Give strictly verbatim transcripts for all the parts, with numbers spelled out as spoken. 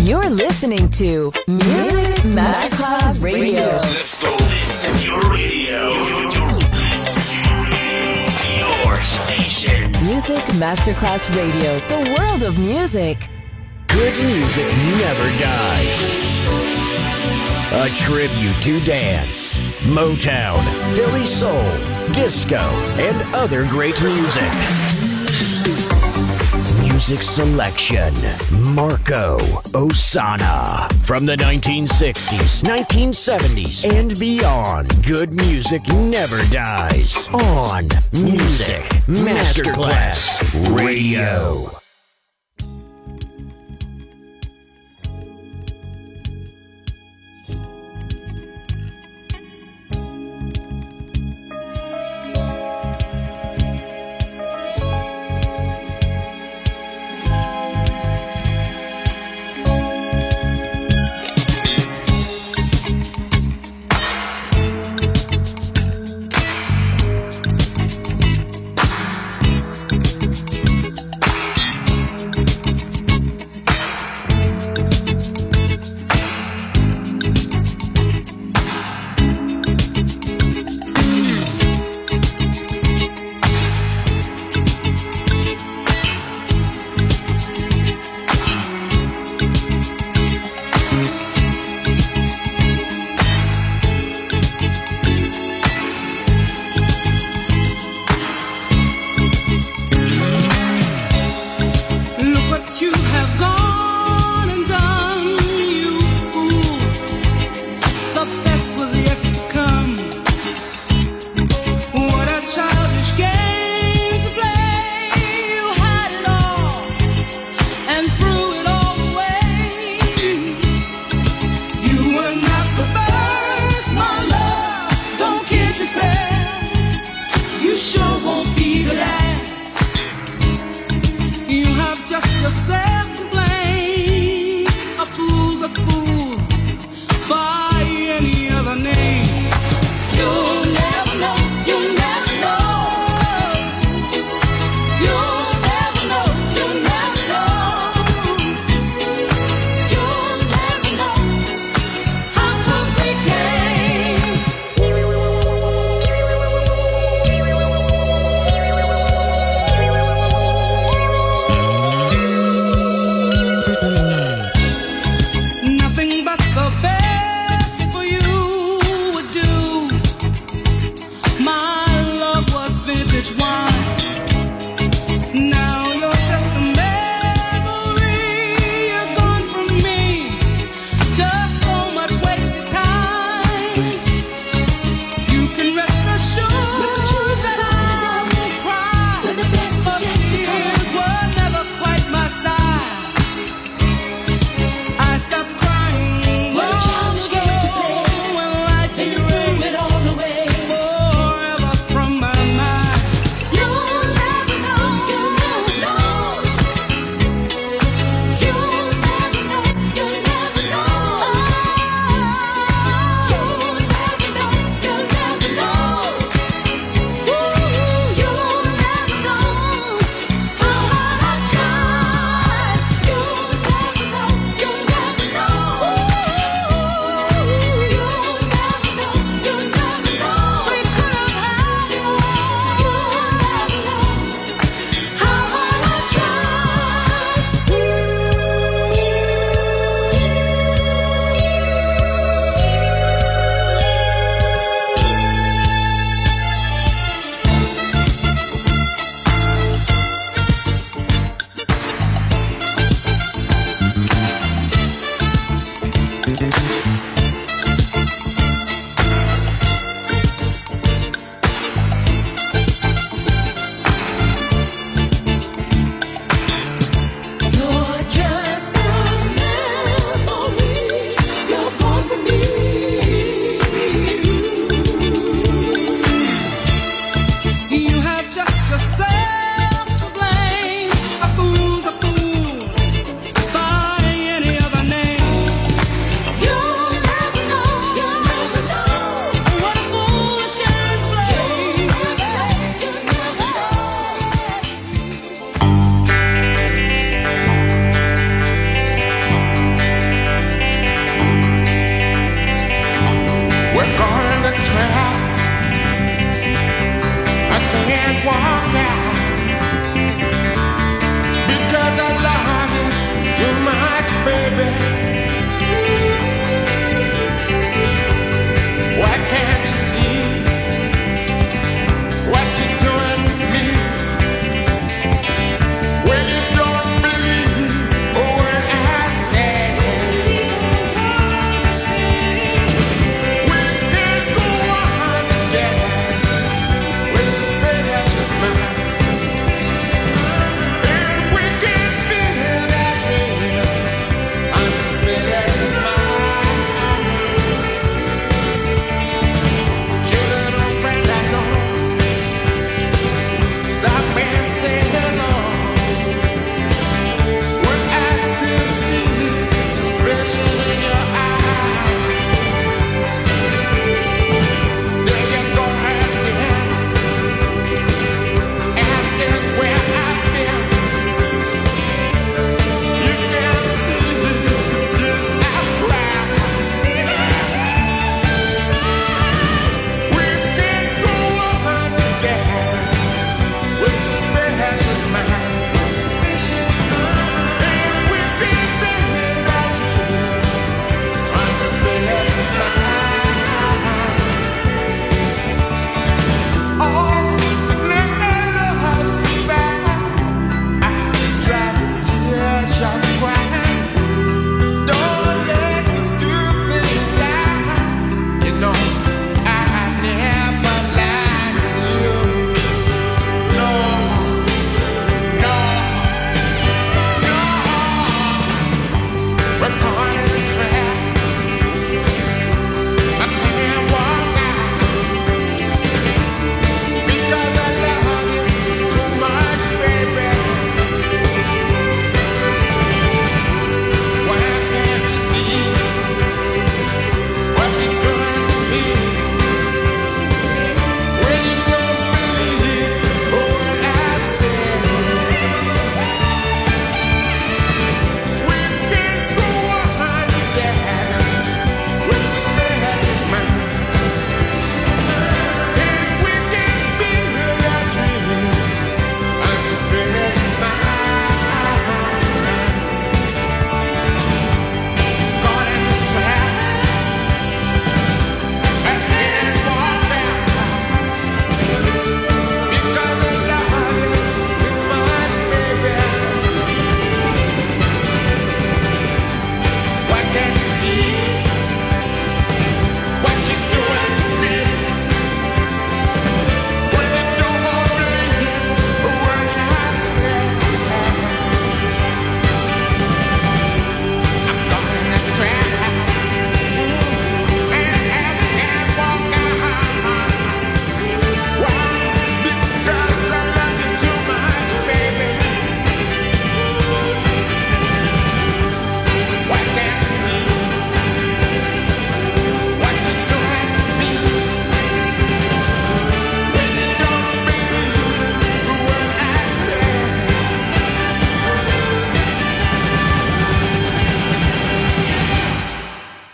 You're listening to Music Masterclass Radio. Let's go. This is your radio. Your station. Music Masterclass Radio. The world of music. Good music never dies. A tribute to dance, Motown, Philly soul, disco, and other great music. Music selection, Marco Ossanna. From the nineteen sixties, nineteen seventies, and beyond, good music never dies. On Music Masterclass Radio.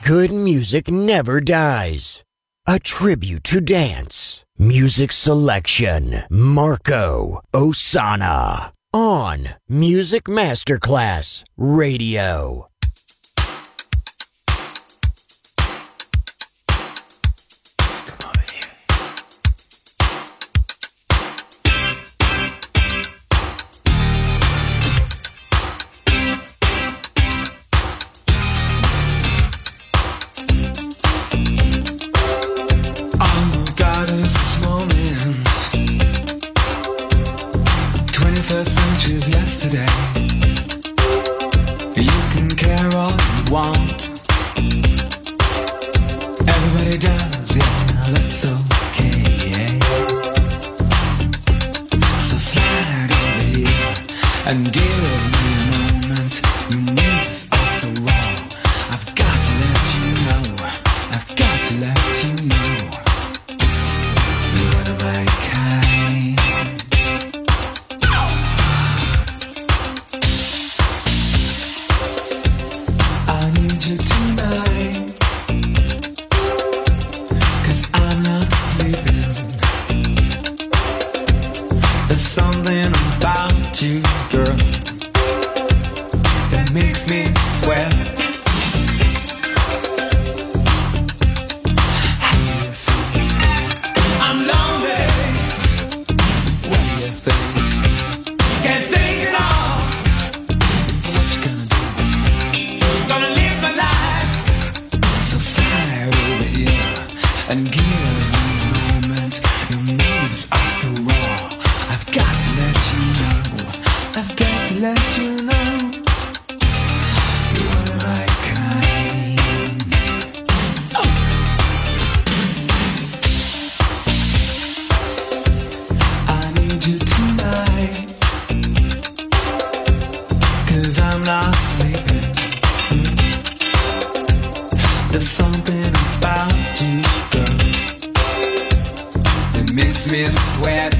Good music never dies. A tribute to dance. Music selection. Marco Ossanna. On Music Masterclass Radio. Yesterday, you can care all you want. Everybody does, yeah, that's okay. So slide over here and give me a moment. Your moves are so raw. I've got to let you know. I've got to let you know. You're one of my kind. I need you tonight, 'cause I'm not sleeping. There's something about you, girl, that makes me sweat. How do you feel? I'm lonely. What do you think? Can't think at all. What you gonna do? Gonna live my life. So slide over here and give me a moment. Your moves are so raw. I've got to let you know. I've got to let you know. You're one of my kind. Oh. I need you tonight, 'cause I'm not sleeping. There's something about you, girl, that makes me sweat.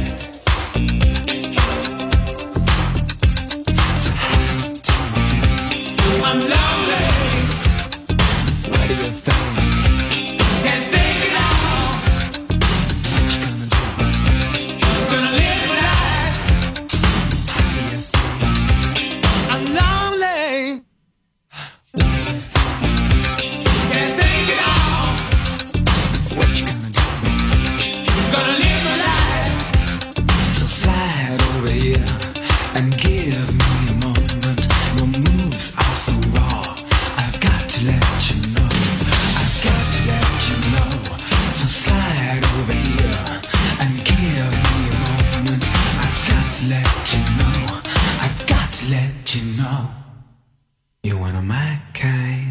So how do you feel? I'm lonely. What do you think? Can't think at all. What you gonna do? Gonna live my life. How do you feel? I'm lonely. What do you think? Can't think at all. What you gonna do? Gonna live my life. So slide over here and give me a moment. Your moves are so raw. I've got to let you know. I've got to let you know. So slide over here and give me a moment. I've got to let you know. I've got to let you know. You're one of my kind.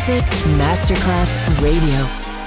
Music Masterclass Radio.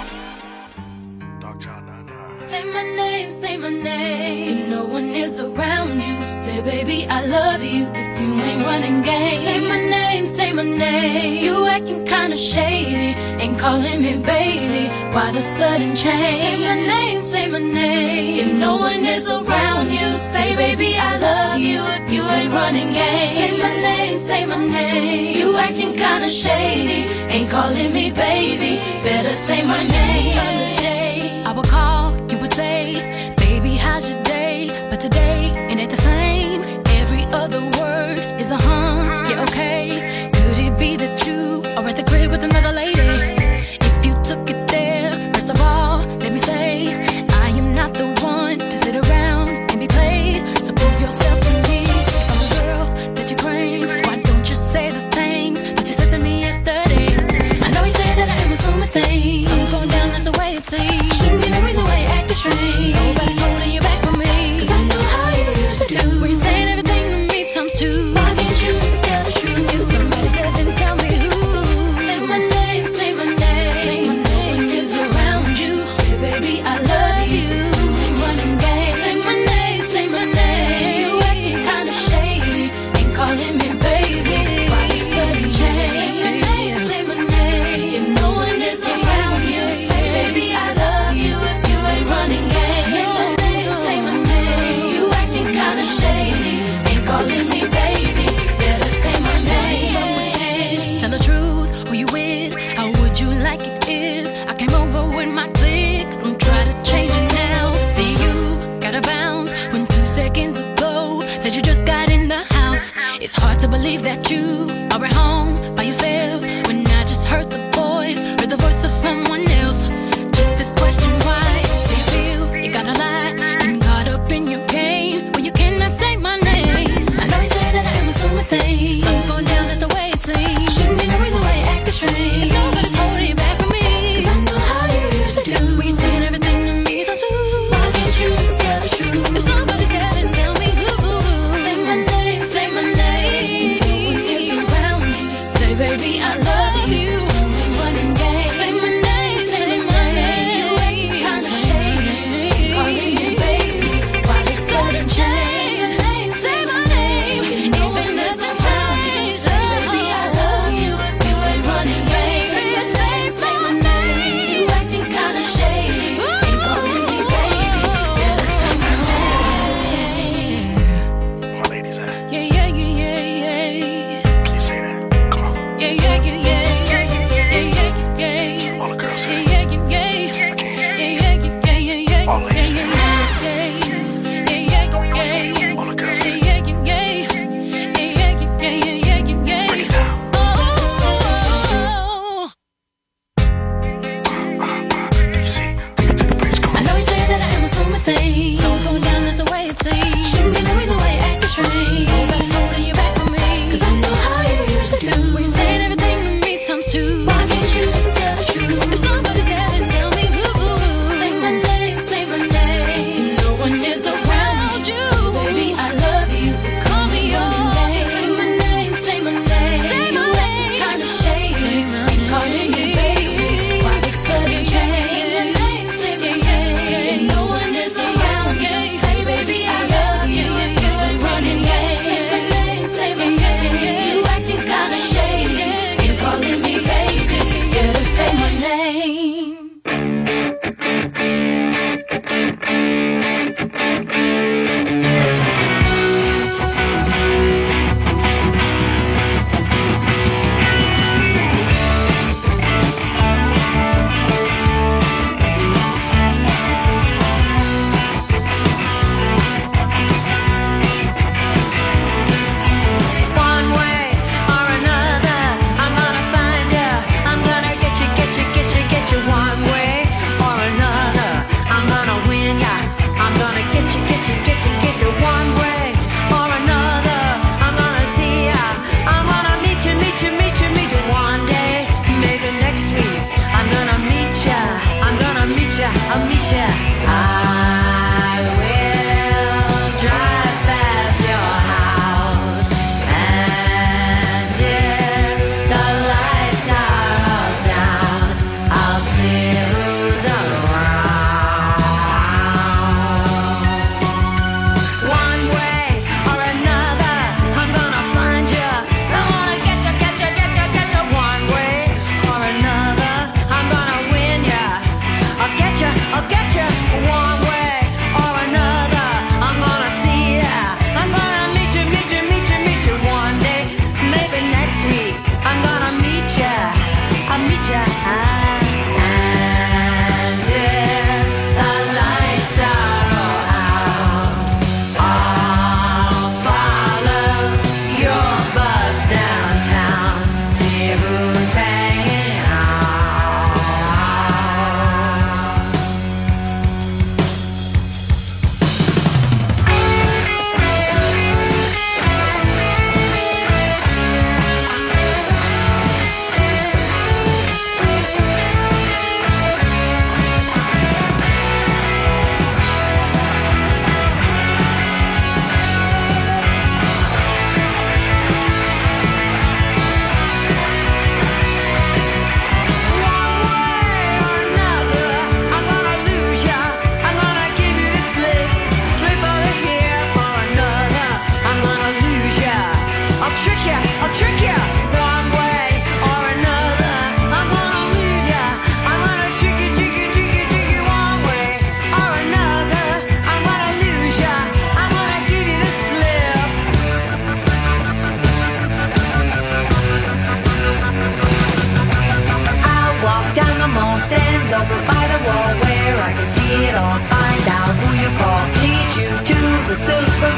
Say my name, say my name. If no one is around you, say baby I love you. If you ain't running game, say my name, say my name. You acting kinda shady, ain't calling me baby. Why the sudden change? Say my name, say my name. If no one is around you, say baby I love you. If you ain't running game, say my name, say my name. You acting kinda shady, ain't calling me baby. Better say my name. Other day I would call, you would say, baby, how's your day? But today, it ain't the same. Every other word is a huh, yeah, okay. Could it be that you are at the crib with another lady? If you took it there, first of all, let me say, I am not the one to sit around and be played. So prove yourself to me. If I'm the girl that you claim, why don't you say the things that you said to me yesterday? I know you said that I am assuming things. Something's going down, that's the way it seems. Shouldn't be no reason why you acting strange. Nobody's holding you back from me, 'cause I know how you used to do. When you're saying everything to me times two, why can't you just tell the truth? If somebody's there, then tell me who. Say my name, say my name. Say my name is around you. Say baby I love you. Ain't running game. Say my name, say my name. You acting kinda shady, ain't calling me baby. Why you sudden change? Say my name, say my name. If no one is around you, say baby I love you. If you ain't running game, say my name, say my name. You acting kinda shady, ain't calling me baby. Better say my name. Just tell the truth, who you with? How would you like it if I came over with my clique? Don't try to change it now. See you gotta bounce when two seconds ago said you just got in the house. It's hard to believe that you are at home by yourself when I just heard the voice, heard the voice of someone else. Just this question, why do you feel you gotta lie? Getting caught up in your game when you cannot say my name. I know you said that I am assuming things. Something's going down, that's the way it seems. Shouldn't be no reason why you acting strange. If nobody's holding you back from me, 'cause I know how you used to do. When you're saying everything to me times two, why can't you just tell the truth? If somebody's there, then tell me who. Say my name, say my name. No one is around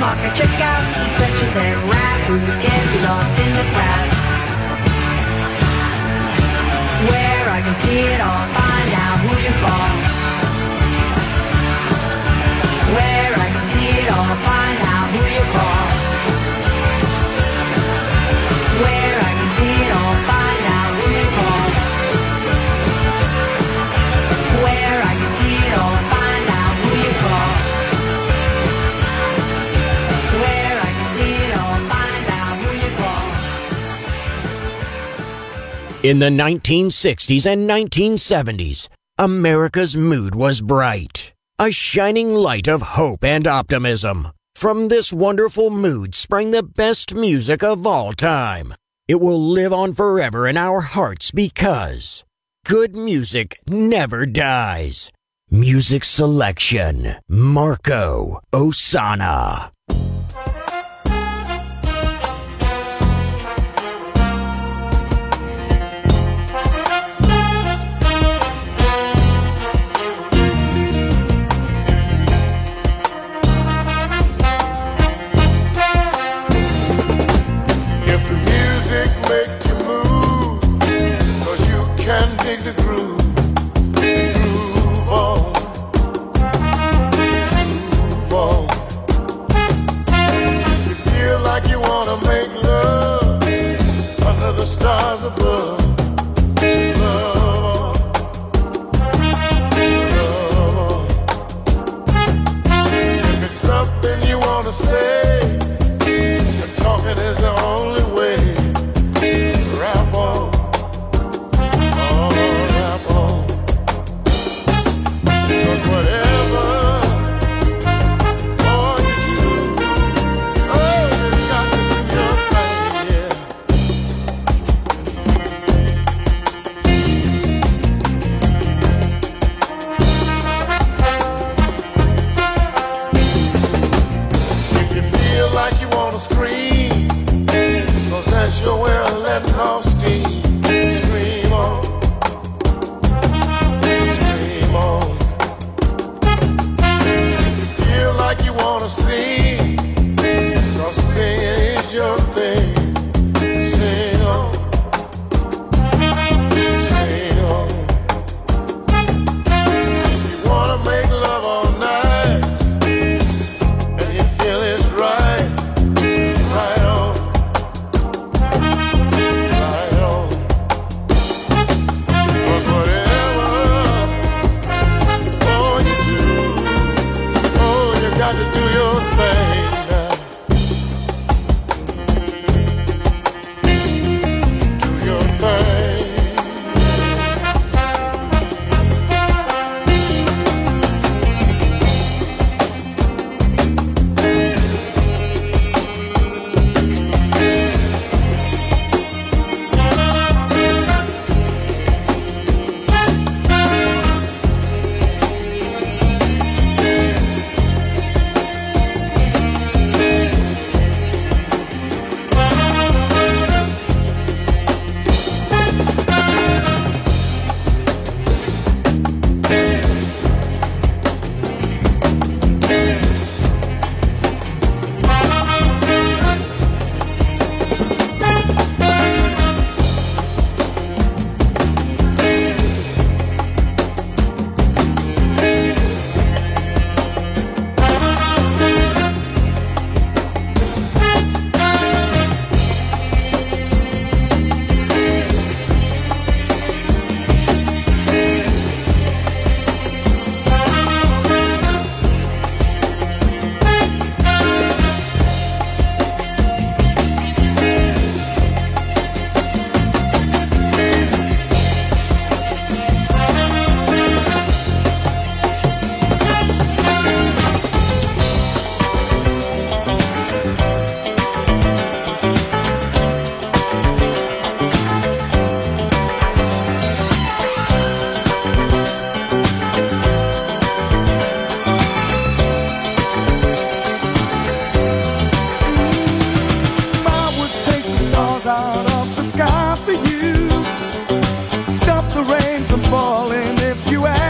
market, check out some specials and rap. Who gets lost in the crowd? Where I can see it all, find out who you call. Where I can see it all, find out who you call. Where I can see it all, find out who you call. Where I can see it all, find out who you call. Where I can see it all, find out who you call. In the nineteen sixties and nineteen seventies, America's mood was bright, a shining light of hope and optimism. From this wonderful mood sprang the best music of all time. It will live on forever in our hearts because good music never dies. Music selection, Marco Ossanna. The groove, and groove on, groove on. You feel like you wanna make love under the stars above. Love on, love on. If it's something you wanna say, and talking is the only way. Rap on. Whatever, all you do, oh, you got to do your thing, yeah. If you feel like you want to scream, 'cause that's your way of letting off steam, scream on. Like you wanna sing, 'cause singing is your thing. Sing on, sing on. If you wanna make love all night, and you feel it's right, right on, right on. 'Cause whatever, all you do, you got to do your thing now. Do your thing.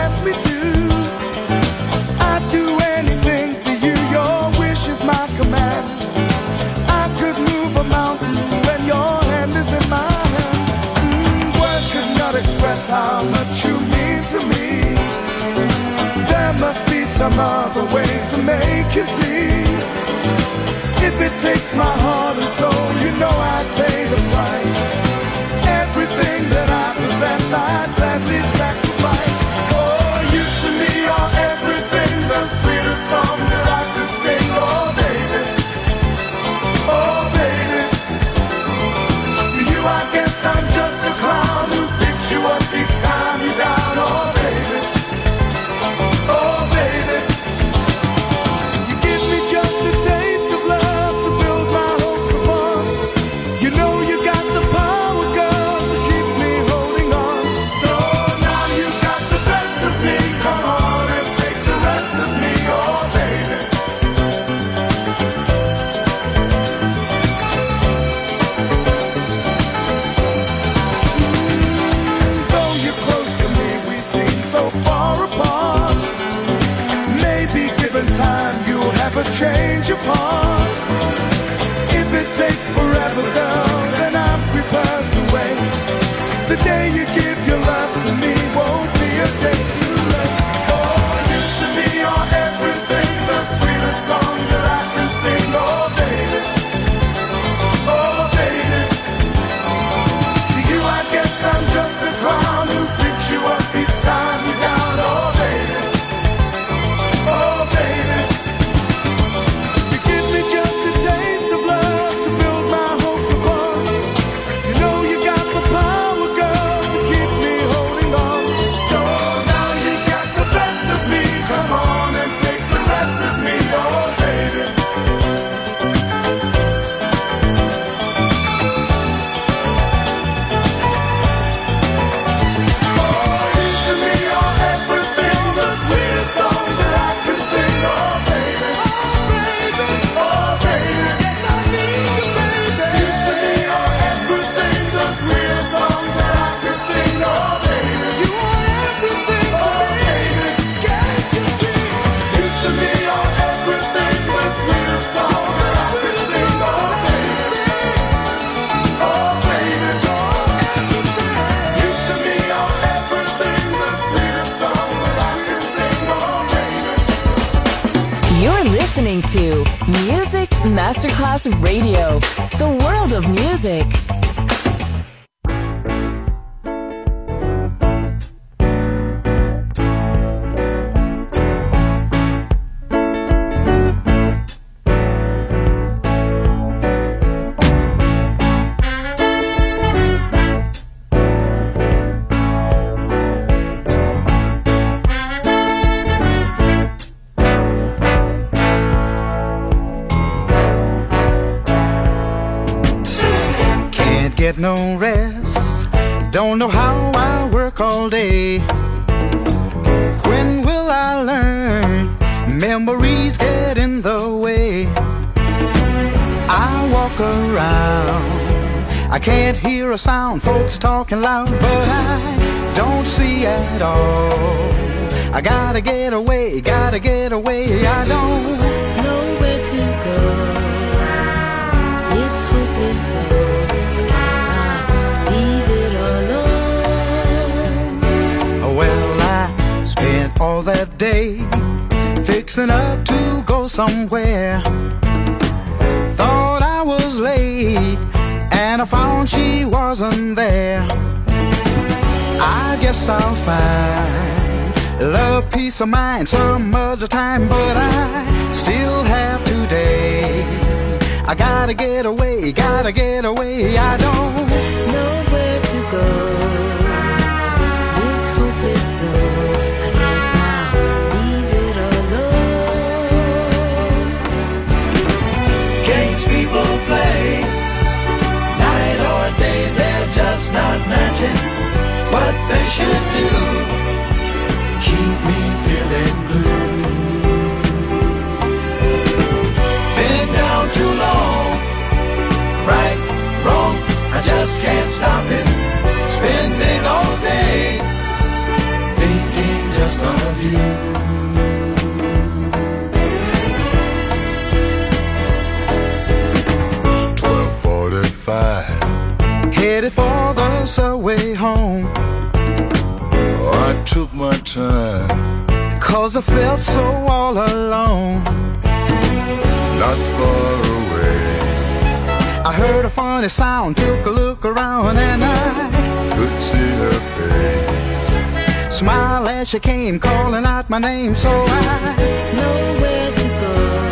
my command. some other way to make you see. If it takes my heart and soul, you know I'd pay the price. Everything that I possess, I'd gladly sacrifice. Oh, you to me are everything, the sweetest song that I could sing. Oh, baby, oh, baby. To you I guess I'm just a clown who picks you up each time you're down. Oh, baby, oh, baby. You give me just a taste of love to build my hopes upon. You know you got the power, girl, to keep me holding on. So now you got the best of me. Come on and take the rest of me. Oh, baby. Though you're close to me, we seem so far apart. Maybe given time, you'll have a change of heart. If it takes forever, girl, then I'm prepared to wait. The day you give your love to me won't be a day too late. Oh, you to me are everything, the sweetest song that I can sing. Oh, baby, oh, baby. To you I guess I'm just a clown who picks you up each time you're down. Oh, baby, oh, baby. You give me just a taste of love to build my hopes upon. You know you got the power, girl, to keep me holding on. So now you got the best of me. Come on and take the rest of me. Oh, baby. Oh, you to me are everything, the sweetest song that I can sing. Oh, baby, oh, baby, oh, baby. Yes, I need you, baby. You to me are everything, the sweetest song that I can sing. Oh, baby, you are everything to oh, me. Baby, can't you see? You to me are everything, the sweetest song that I can sing. Oh, baby, oh, baby, you to me are everything, the sweetest song that I can sing. Oh, baby. You're listening to Music Masterclass Radio, the world of music. Can't get no rest. Don't know how I work all day. When will I learn? Memories get in the way. I walk around, I can't hear a sound. Folks talking loud, but I don't see at all. I gotta get away, gotta get away. I don't know where to go. It's hopeless, so I guess I'll leave it alone. Well, I spent all that day fixing up to go somewhere. Thought I was late, and I found she wasn't there. I guess I'll find love, peace of mind some other time, but I still have today. I gotta get away, gotta get away. I don't know where to go. It's hopeless, so I guess I'll leave it alone. Games people play, night or day, they're just not matching what they should do. Keep me feeling blue. Been down too long, right, wrong, I just can't stop it. Spending all day thinking just of you. twelve forty-five, headed for the subway home. oh, I took my time. 'cause I felt so all alone. Not far away, I heard a funny sound, took a look around, and I could see her face. Smile as she came, calling out my name, so I Nowhere to go.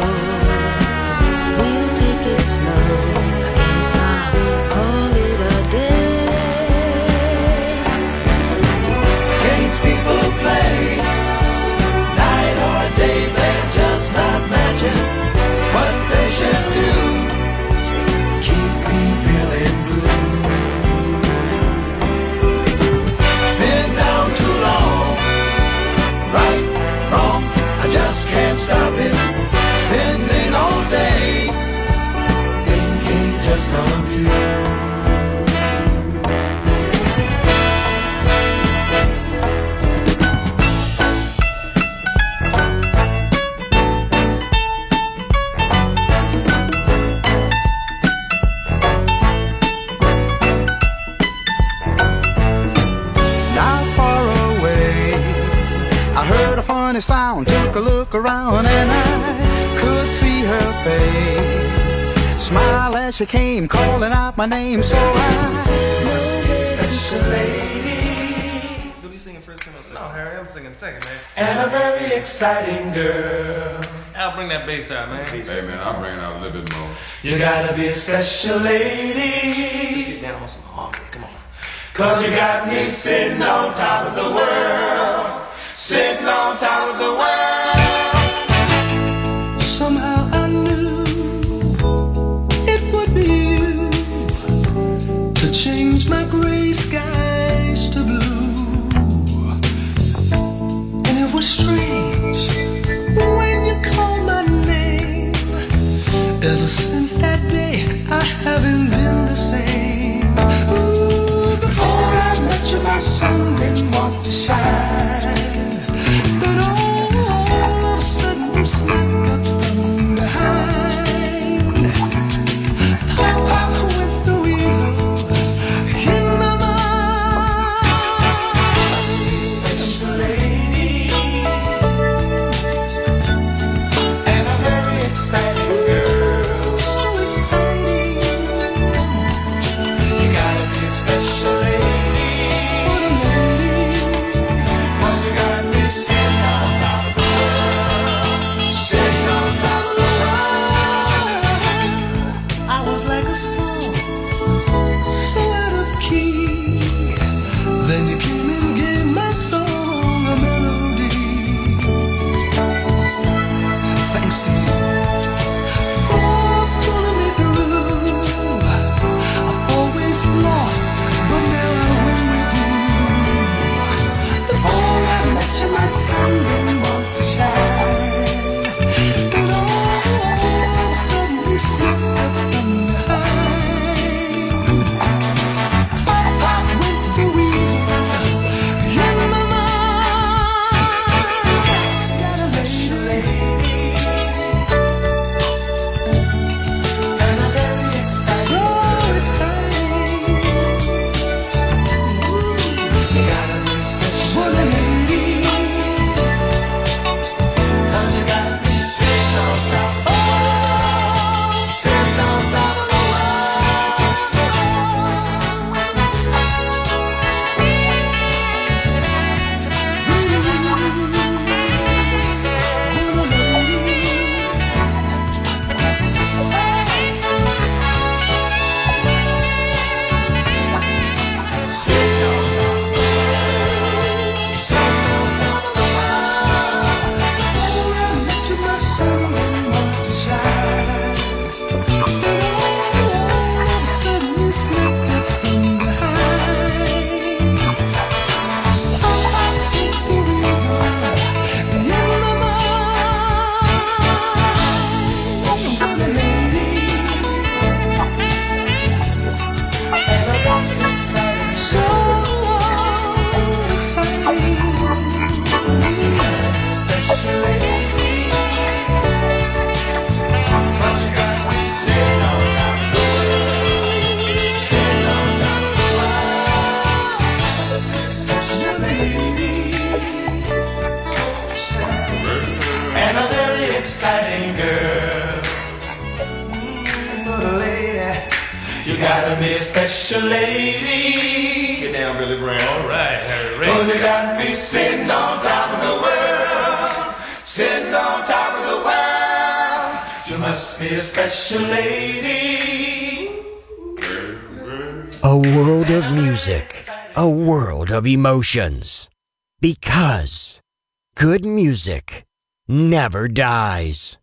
We'll take it slow. I guess I'll call it a day. Games people play, night or day, they're just not matching. What they should do keeps me feeling blue. Been down too long, right, wrong, I just can't stop it. Spending all day thinking just of you. Sound, took a look around, and I could see her face. Smile as she came, calling out my name, so I must be a special lady. You'll be singing first and no, Harry, I'm singing second, man. And a very exciting girl. I'll bring that bass out, man. Hey, man, I'll bring it out a little bit more. You gotta be a special lady. Let's get down on some harmony, come on. 'Cause you got me sitting on top of the world. Sitting on top of the world. Somehow I knew it would be you to change my gray skies to blue. And it was strange when you called my name. Ever since that day I haven't been the same. Ooh, before I met you my sun didn't want to shine. But all of a sudden you snuck up from behind. Hop, hop with the weasel in my mind. I see a special lady and a very exciting girl. So exciting. You gotta be a special lady. Sitting on top of the world, sitting on top of the world. I was like a song, so out of key. Then you came and gave my song a melody. Thanks to you for pulling me through. I'm always lost, but now I'm with you. Before I met you, my sun didn't want to shine. But all of a sudden you slipped up from behind. Hop, hop with the weasel in my mind. Special lady. exciting, girl. Mm, lady, you gotta be a special lady. Get down, Billy Brown. All right, Harry. Cause you got me sitting on top of the world, sitting on top of the world. You must be a special lady. A world of music, a world of emotions. Because good music never dies.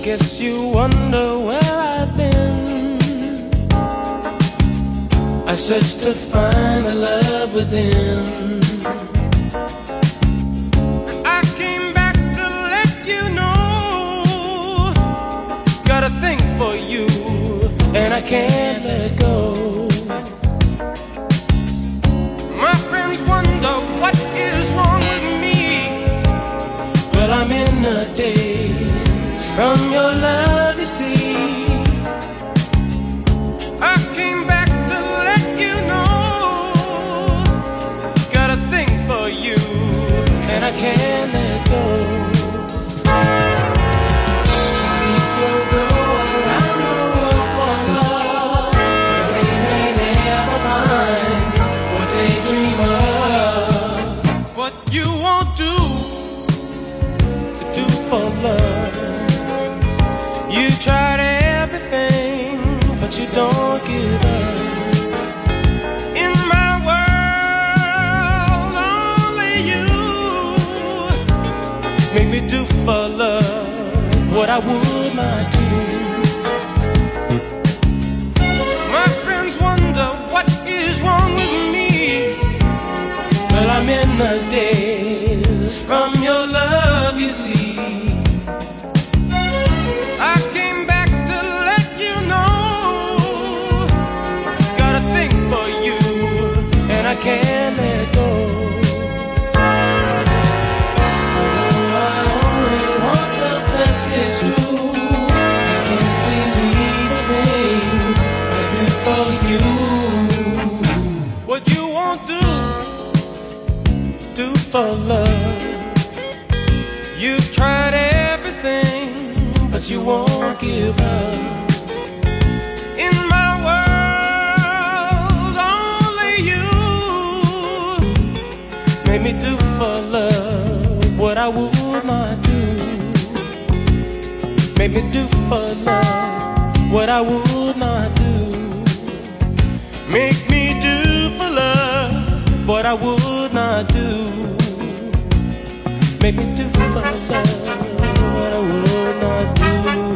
guess you wonder where I've been. I searched to find the love within. I came back to let you know, got a thing for you, and I can't let it go. My friends wonder what is wrong with me. Well, I'm in a daze from your love, you see. I came back to let you know, got a thing for you, and I can't let go. Some people go around the world for love, but they may never find what they dream of. What you won't do to do for love. You tried everything, but you don't give up. In my world, only you make me do for love what I would not do. My friends wonder what is wrong with me. Well, I'm in the daze from your love, you see. I came back to let you know, got a thing for you, and I can't let go. Oh, I only want the best, it's true. I can't believe the things I do for you. What you won't do, do for love. You've tried everything, but you won't give up. In my world, only you made me do for love what I would not do. Made me do for love what I would not do. Make me do for love what I would not do. Make me do for love what I would not do.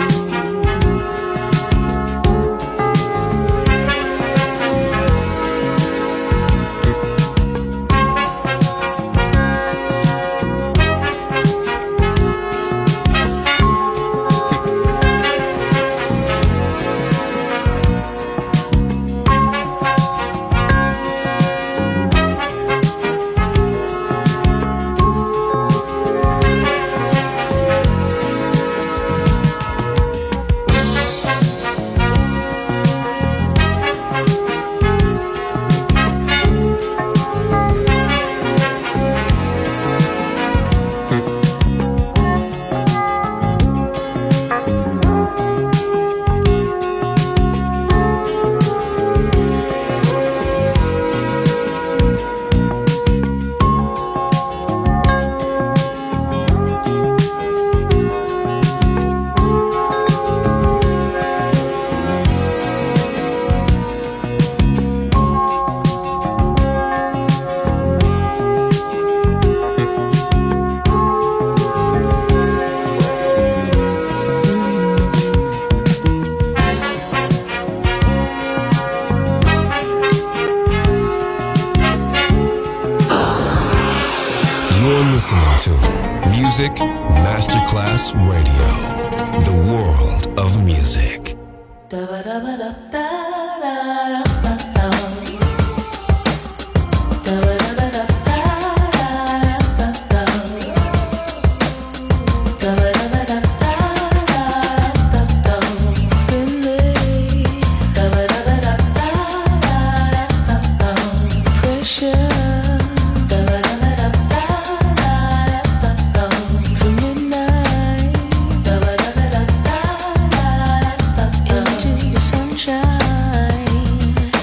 listening to Music Masterclass Radio, the world of music. Into the sunshine.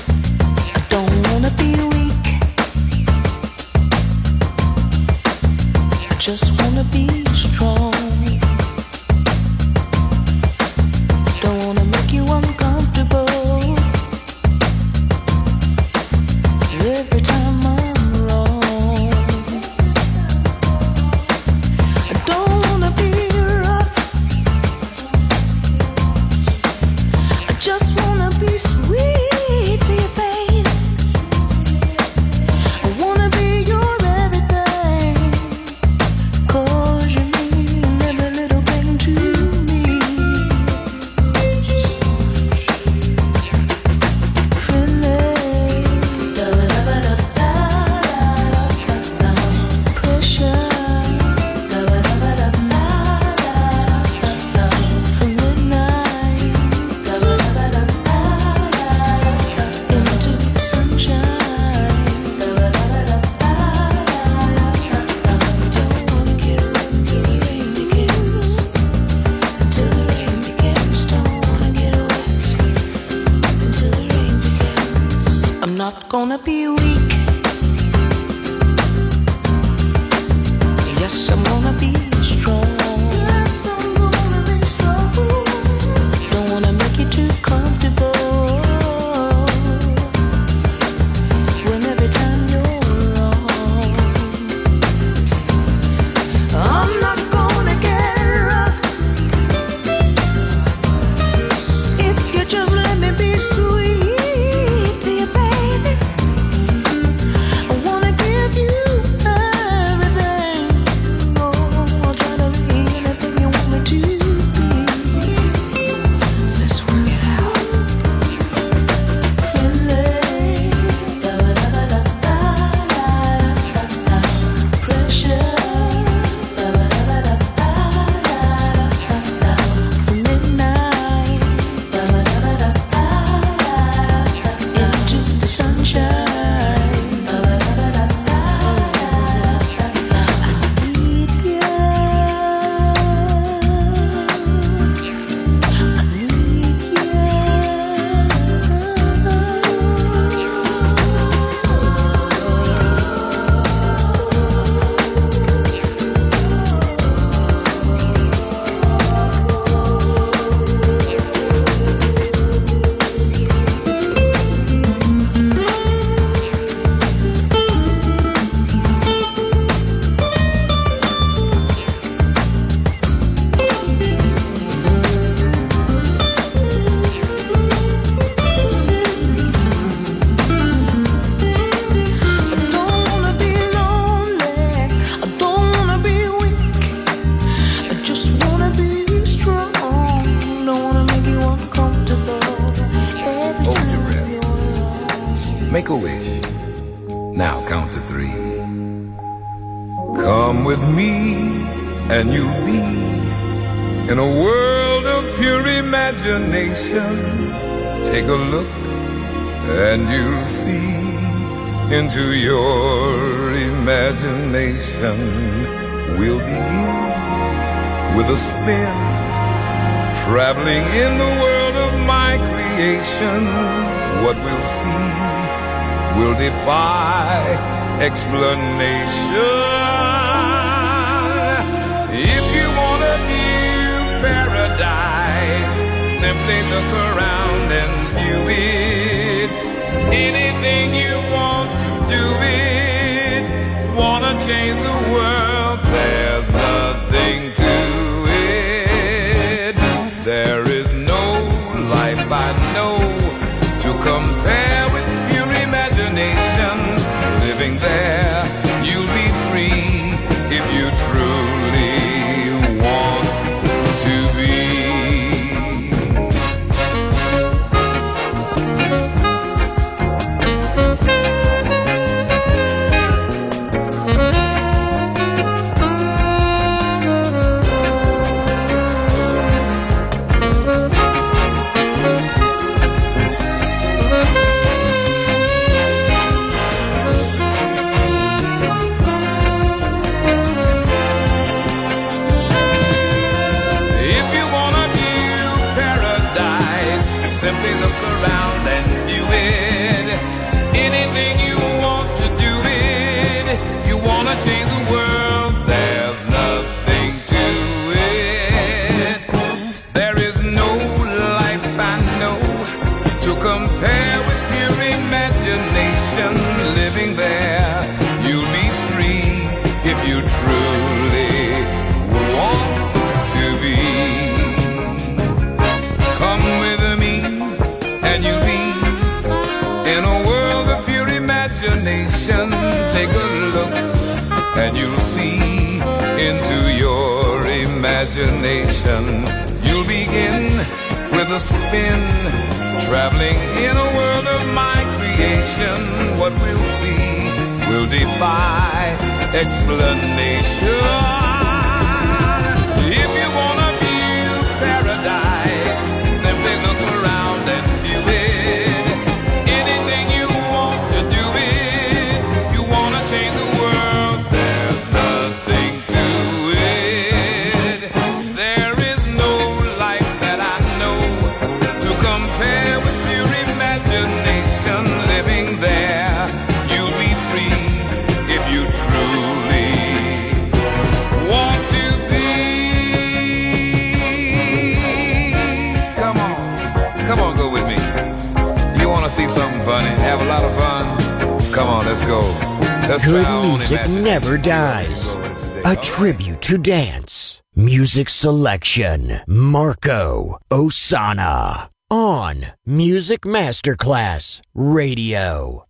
gonna be weak. Yes, I'm gonna be strong. Yes, I'm gonna be strong. Don't wanna make you too comfortable. When every time you're wrong, I'm not gonna get rough. If you just let me be sweet to you, baby. I wanna give you everything. Oh, I'll try to be anything you want me to be. Let's work it out. Pressure. From midnight into the sunshine. I need you. I need I don't wanna be lonely. I don't wanna be weak. I just wanna be strong. Don't wanna make you uncomfortable. Every Hold time your breath. you're around. Make a wish. Now count to three. Come with me and you'll be in a world of pure imagination. Take a look and you'll see into your imagination. We'll begin with a spin, traveling in the world of my creation. What we'll see will defy explanation. If you want a new paradise, simply look around and view it. Anything you want to do it. Wanna change the world, there's nothing to it. There is no life I know to compare with pure imagination. Living there, you'll be free if you truly want to be. If you want a new paradise, simply look around and view it. Anything you want to do it. You wanna change the world, there's nothing to it. There is no life I know to compare with pure imagination. Living there, you'll be free if you truly want to be. Come with me and you'll be in a world of pure imagination. Take a look and you'll see into your imagination. You'll begin with a spin, traveling in a world of my creation. What we'll see will defy explanation. If you want a view paradise, simply look around and view it. Anything you want to do it. You wanna change the world, there's nothing to it. There is no life that I know to compare with pure imagination. Living there, want to see something funny, have a lot of fun? Come on, let's go. Let's try Good our own music imagination. never dies. A tribute to dance. Music selection. Marco Osana. On Music Masterclass Radio.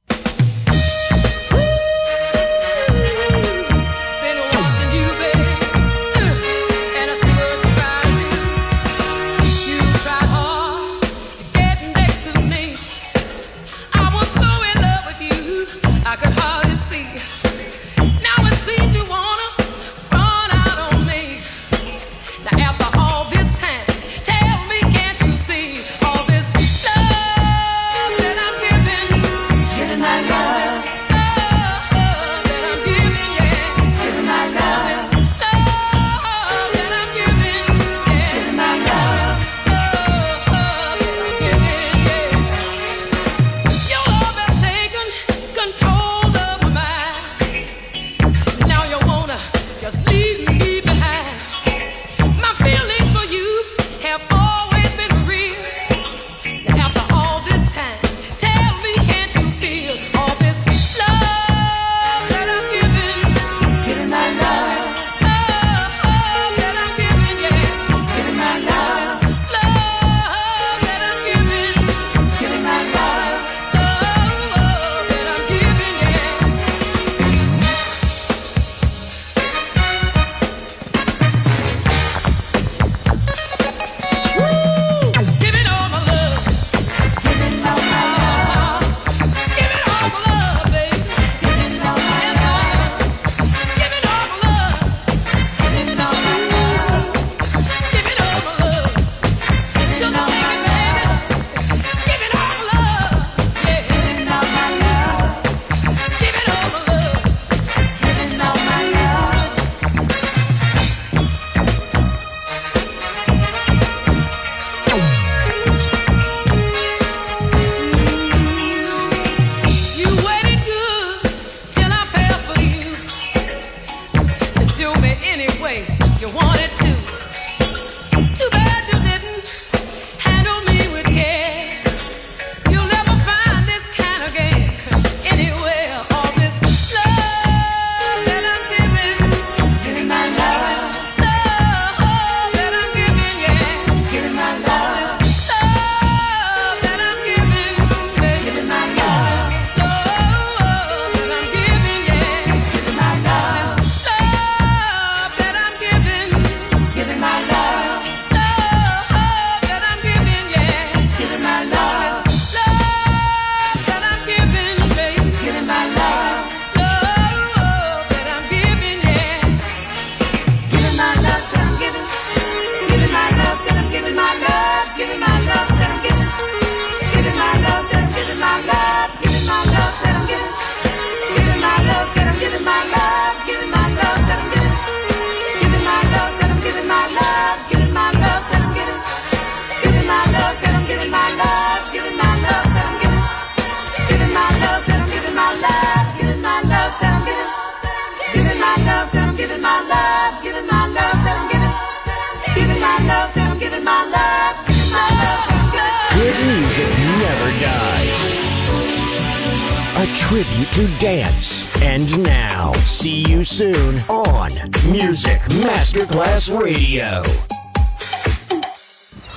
A tribute to dance. And now, see you soon on Music Masterclass Radio.